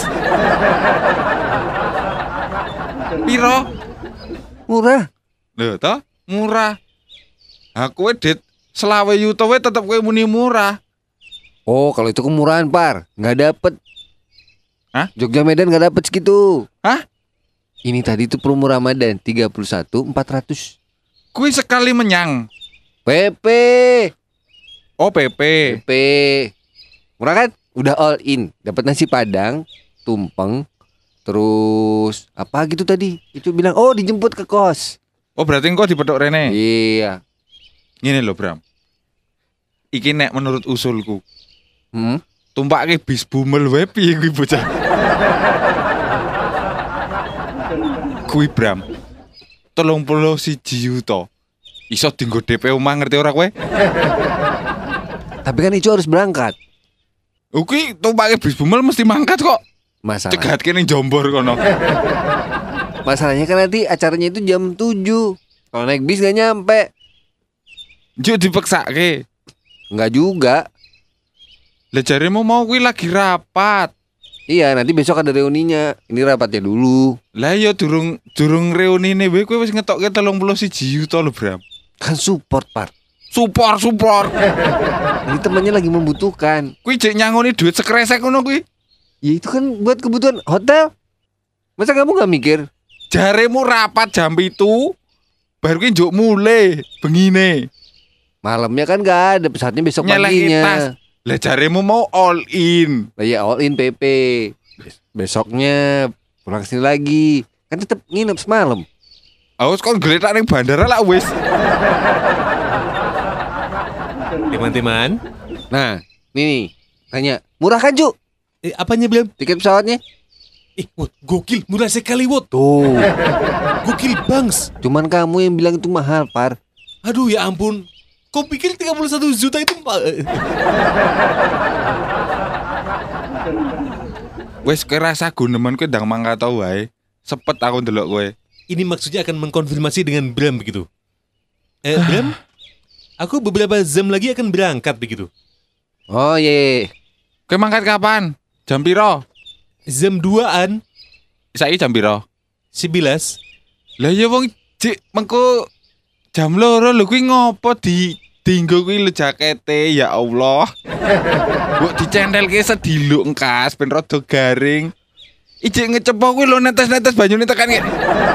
Piro? Murah. Lho toh, murah. Aku dit selawe yuto wae tetep kowe muni murah. Oh, kalau itu kemurahan, Par. Nggak dapet. Hah? Jogja Medan nggak dapet segitu. Hah? Ini tadi tuh promo Ramadan 31.400. Kuwi sekali menyang. PP. Oh, PP. PP. Murah kan? Udah all in. Dapat nasi padang, tumpeng, terus apa gitu tadi? Itu bilang, "Oh, dijemput ke kos." Oh, berarti engko dipethuk rene. Iya. Ngene lho, Bram. Iki nek menurut usulku, Hmm? tumpake bis bumel wae piye kuwi bocah. Kuwi Bram. 31 juta. Iso dienggo DP omah ngerti ora kowe? Tapi kan itu harus berangkat. Kuwi tumpake bis bumel mesti mangkat kok. Cegatke ning Jombor kono. Masalahnya kan nanti acaranya itu jam 7. Kalau naik bis gak nyampe. Njuk dipeksake. Enggak juga. Lah jaremu mau kuwi lagi rapat. Iya, nanti besok ada reuninya. Ini rapatnya dulu. Lah ya durung reunine wae kowe wis ngetokke 31 juta lho, Bram. Kan support, Par. Support. Ini temannya lagi membutuhkan. Kuwi jek nyangoni duit sekresek ngono kuwi. Ya itu kan buat kebutuhan hotel. Masa kamu gak mikir? Jaremu rapat jam itu baru ki njuk mulai bengine. Malamnya kan gak ada, pesawatnya besok Nyelehi tas. paginya. Lah jaremu mau all in. Lah ya all in PP. Besoknya pulang sini lagi. Kan tetap nginep semalam. Awas kon geletak ning bandara lah wis. Teman-teman, Nah, nih tanya, murah kan, Ju? apanya Bram? Tiket pesawatnya? Wot, gokil, murah sekali Wot. Tuh. Gokil bangs. Cuman kamu yang bilang itu mahal, Par. Aduh ya ampun. Kau pikir 31 juta itu Wis kerasa guneman kowe ndang mangkat wae. Sepet aku ndelok kowe. Ini maksudnya akan mengkonfirmasi dengan Bram begitu. Bram, aku beberapa jam lagi akan berangkat begitu. Oh iya. Kowe mangkat kapan? Jam piro? Jam 2-an, Saiki jam piro? 11. Lah ya wong cik mengko jam loro lho kuwi ngopo dinggo kuwi lho jakete ya Allah. Mbok dicentelke sediluk engkas ben rada garing. Ijik ngecepo kuwi lho netes-netes banyune tekan ngene.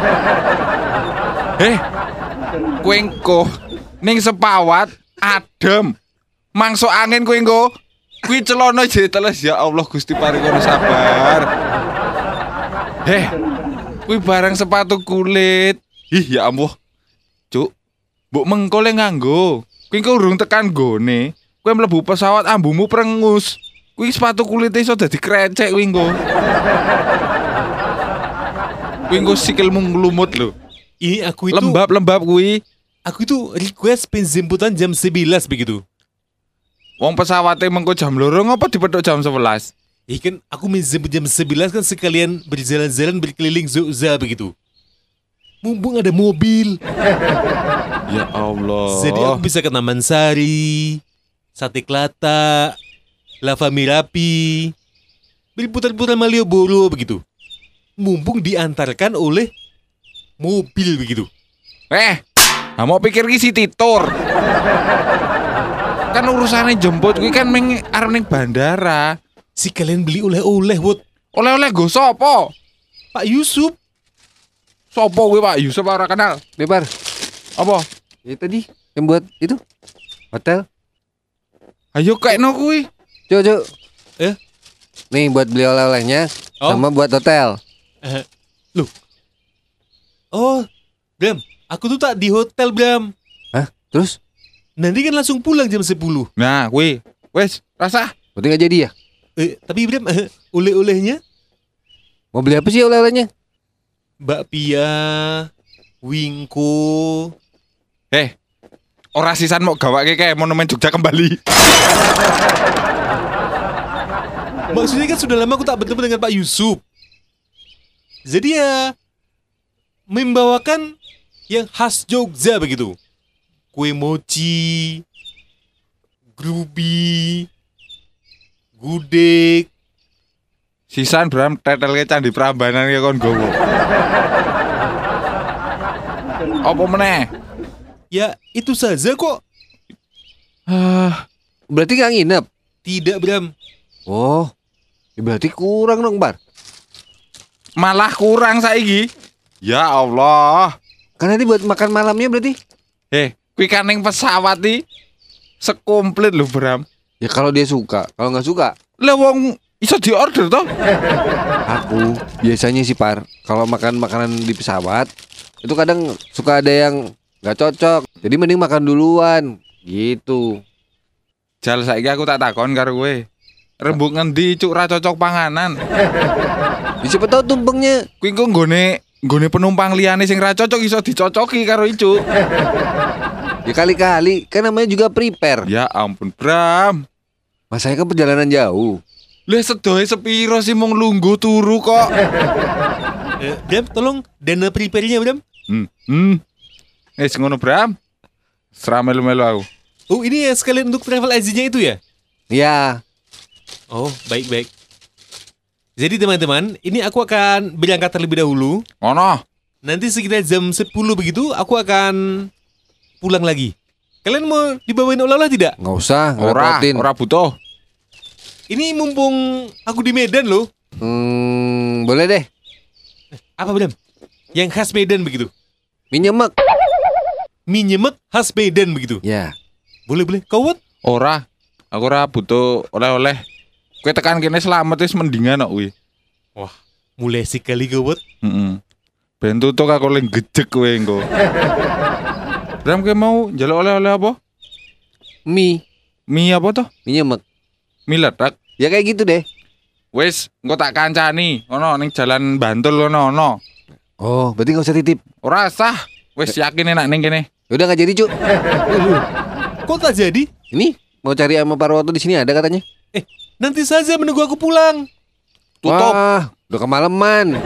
Kowe engko ning sepawat adem. Mangso angin kowe engko. Kuwi celana jek teles ya Allah Gusti paringono sabar. Kuwi barang sepatu kulit. Ih ya ampun. Cuk. Mbok mengko le nganggo. Kuwi engko urung tekan gone. Kowe mlebu pesawat ambumu prengus. Kuwi sepatu kulit iso dadi krecek kuwi engko. Kuwi engko sikilmu nglumut lho. Ini aku itu Lembab-lembab kuwi. Aku itu request penjemputan jam 11 begitu. Wong pesawate mengko jam loro ngopo dipethuk jam 11? Kan aku menjemput jam 11 kan sekalian berjalan-jalan berkeliling Jogja begitu. Mumpung ada mobil. Ya Allah. Jadi aku bisa ke Taman Sari, Sate Klata, Lava Merapi, berputar-putar Malioboro begitu. Mumpung diantarkan oleh mobil begitu. Mau pikir ki City Tour. Kan urusannya jemput kuwi kan arep ning bandara. Si kalian beli oleh-oleh, Wot. Oleh-oleh go sapa? Pak Yusuf. Sopo kuwi Pak Yusuf ora kenal. Lebar. Apa? Ya tadi yang buat itu hotel. Ayo kayakno kuwi. Cuk. Eh? Nih buat beli oleh-olehnya Oh. sama buat hotel. Oh, Bram, aku tuh tak di hotel, Bram. Hah? Terus? Nanti kan langsung pulang jam 10. Nah, kuwi. Wes, rasa. Berarti nggak jadi ya? Tapi Bram, oleh-olehnya Mau beli apa sih oleh-olehnya? bakpia, wingko. Ora sisan mau gawake kayak monumen Jogja kembali. Maksudnya kan sudah lama aku tak bertemu dengan Pak Yusuf. Jadi ya membawakan yang khas Jogja begitu. Kue mochi, grubi, gudeg. Sisan Bram tetelke Candi Prambanan ya kon gowo. Apa meneh? Ya itu saja kok. Berarti nggak nginep? Tidak, Bram. Oh, ya berarti kurang dong, Bar. Malah kurang saiki. Ya Allah. Kan nanti buat makan malamnya berarti? Kuwi kan ning pesawat iki sekomplit lho Bram. Ya kalau dia suka, kalau nggak suka, Lah wong iso diorder toh? aku biasanya sih Par, kalau makan makanan di pesawat itu kadang suka ada yang nggak cocok. Jadi mending makan duluan, gitu. Jal saiki aku tak takon karo kowe. Rembug ngendi cuk ra cocok panganan? Ya, siapa tahu tumpengnya. Kuwi engko nggone penumpang liyane sing ra cocok iso dicocoki karo icu. Ya kali-kali, kan namanya juga prepare. Ya ampun Bram. Masanya kan perjalanan jauh. Lah sedoe sepiro sih mung lungguh turu kok. Bram, tolong dana prepare-nya, Bram. Ngono Bram. Sera melu-melu aku. Oh, ini ya sekalian untuk travel agent-nya itu ya? Ya, Oh, baik-baik. Jadi teman-teman, ini aku akan berangkat terlebih dahulu. Ngono. Nanti sekitar jam 10 begitu aku akan pulang lagi. Kalian mau dibawain oleh-oleh tidak? nggak usah, Ora ngerepotin. butuh. Ini mumpung aku di Medan loh. Boleh deh. Apa Bram? Yang khas Medan begitu. Mie nyemek. Mie nyemek khas Medan begitu. Ya, Boleh. Kau buat? Ora. Aku ora butuh oleh-oleh. Kowe tekan kene selamat wis mendingan kok kuwi. Mulai sekali kau buat. Heeh. Ben tutuk aku ling gejek kowe engko. Bram kowe mau njaluk oleh-oleh apa? mie Mie apa toh? nyemek. Mie ledak. Ya kayak gitu deh. Wis, engko tak kancani. Ono ning jalan Bantul ono. Oh, berarti nggak usah titip. Ora sah. Wis yakin enak ning kene. Udah nggak jadi, Cuk. Kok tak jadi? Ini mau cari sama Parwoto di sini ada katanya. Nanti saja menunggu aku pulang. Tutup. Wah, udah kemalaman.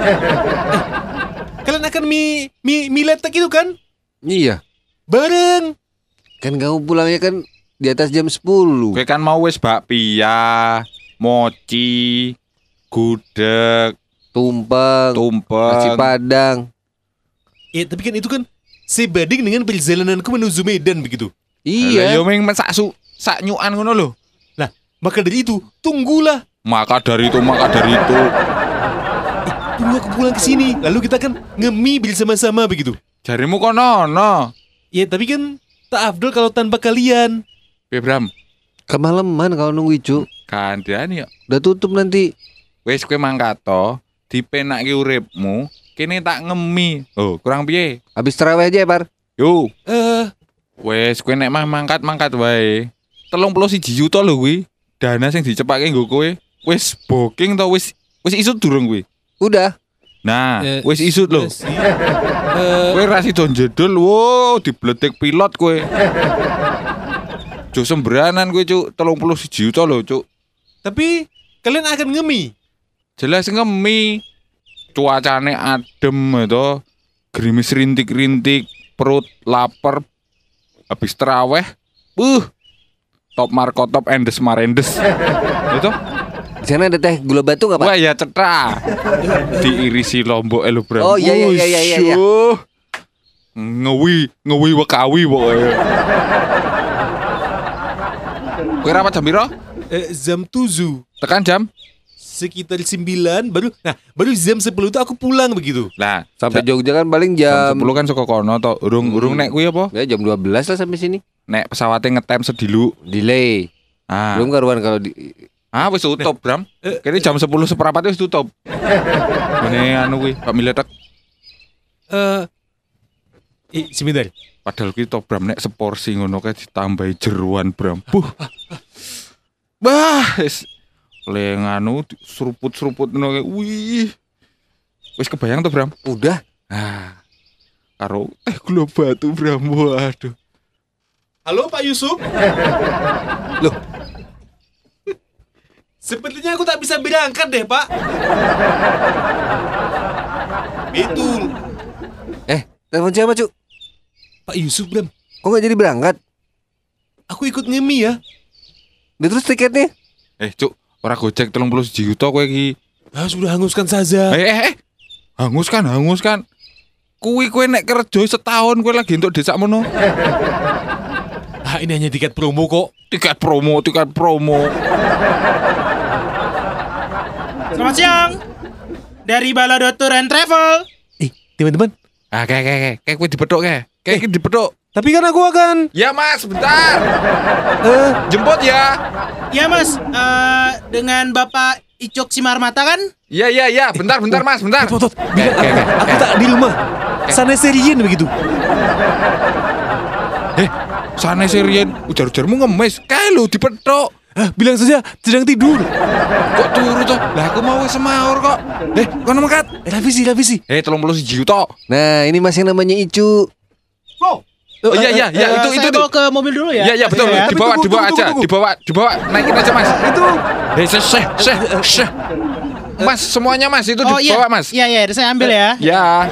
Kalian akan mie letek itu kan? Iya, Bareng. kan kamu pulangnya kan di atas jam 10. Kowe kan mau wis bakpia, mochi, gudeg, Tumpeng, nasi tumpeng. padang. Ya, tapi kan itu kan sebanding dengan perjalananku menuju Medan begitu. Iya. Yo ming sak nyukan ngono lho. Nah, maka dari itu, tunggulah. Maka dari itu. Tunggu aku pulang ke sini. Lalu kita kan nge-mie bersama-sama begitu. Jarimu kono no. Ya, tapi kan tak afdol kalau tanpa kalian. Piye Bram? Kemalaman kalau nunggu Icu. Kandhani yo. Udah tutup nanti. Wis kowe mangkat to, dipenakke uripmu, kene tak ngemi. Oh, kurang piye? Habis terawih aja ya, Par. Yo, Eh, wis kowe nek mah mangkat wae. 31 juta lho kuwi. Dana sing dicepake nggo kowe. Wis booking to wis isut durung kuwi. Udah. Nah, eh, wis isut lho. sih. Eh, Kowe ra sida jedul, wow, dibletik pilot kowe. Jo sembranan kowe, Cuk. 31 juta lho, Cuk. tapi kalian akan nge-mie. Jelas ngemi. Cuacane adem itu. Gerimis rintik-rintik, perut lapar. Habis terawih, top markotop endes marendes. Itu. Di sana ada teh gula batu nggak, Pak? Wah ya cetra. Diirisi lombok elo Bram. Oh, iya. Wusyuh. Ngewi wekawi pokoknya. Kowe rapat jam piro? Jam 7. Tekan jam sekitar 9 baru jam 10 itu aku pulang begitu. Lah, Sampai Jogja kan paling jam jam 10 kan saka kono to. Urung nek kuwi apa? ya jam 12 lah sampai sini. Nek pesawatnya ngetem sedilu. Delay. Ah. Belum karuan kalau di Wis tutup, Bram. Kene jam 10 seperempat wis tutup. Ini anu kuwi, Pak Miletek. Sebentar. Padahal kuwi to Bram nek seporsi ngono kae ditambahi jeruan, Bram. Bah, wis le nganu seruput-seruput ngono kae. Wih. Wis kebayang to, Bram? udah. Karo gula batu, Bram. Waduh. Halo Pak Yusuf. Loh. Sepertinya aku tak bisa berangkat deh Pak. Betul. Telepon siapa, Cuk? Pak Yusuf Bram. Kok nggak jadi berangkat? Aku ikut ngemi ya. Dia terus tiketnya? Cuk, ora gojek 31 juta kowe iki. Sudah hanguskan saja. Hanguskan. Kowe nek kerja setahun kowe lagi entuk desa mono. Ini hanya tiket promo kok. Tiket promo. Selamat siang. Dari Balado Tour and Travel. Teman-teman. Kayak kowe dipethuk kayak. Kayak dipethuk. Tapi kan aku akan. Ya Mas, bentar. Jemput ya. Ya Mas, dengan Bapak Icuk Simarmata kan? Iya, bentar Mas, bentar. Tot. Aku tak di rumah. Sana serien begitu. Sana serian, ujar-ujarmu ngemis. Kae lho dipethuk. Bilang saja sedang tidur. Kok turu toh? Lah aku mau semaur kok. Kono mangkat. Revisi. 31 juta. Nah, ini Mas yang namanya Icu. Oh iya, itu Saya bawa ke mobil dulu ya. Iya, betul. Ya. Dibawa aja. Tunggu. Dibawa. Naikin aja, Mas. Itu. Syekh. Mas, semuanya Mas itu Oh iya. dibawa, Mas. Iya, saya ambil ya. Ya.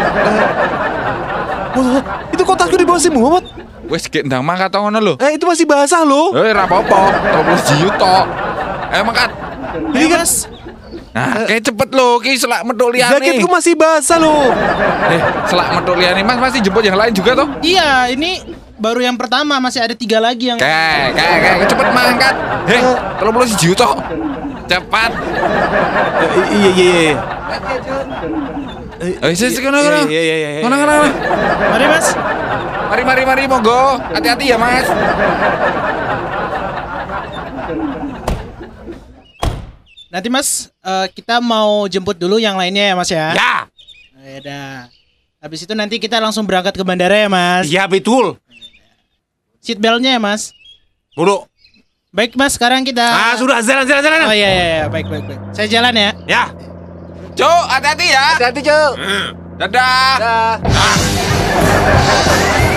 Itu kotakku di bawah si Muhammad. Wes gek ndang mangkat to ngono lho. Itu masih basah loh. Ora apa-apa. 30 juta. Mangkat. Ini Mas. Nah, kayak cepet lho, ki selak metuk liyane. Jaketku masih basah loh. Selak metuk liyane, Mas masih jemput yang lain juga toh? Iya, ini baru yang pertama, masih ada 3 lagi yang. Kayak cepet mangkat. 30 juta. Cepat. Iya. Sik kono. Iya. Kono. Mari Mas. Mari monggo. Hati-hati ya, Mas. Nanti Mas, kita mau jemput dulu yang lainnya ya Mas ya. Ya. Udah. Habis itu nanti kita langsung berangkat ke bandara ya Mas. Iya betul. Seat beltnya ya Mas. Duduk. Baik Mas, sekarang kita. Sudah jalan. Oh iya, baik. Saya jalan ya. Ya. Cuk, hati-hati ya. Hati-hati, Cuk. Dadah. Dah.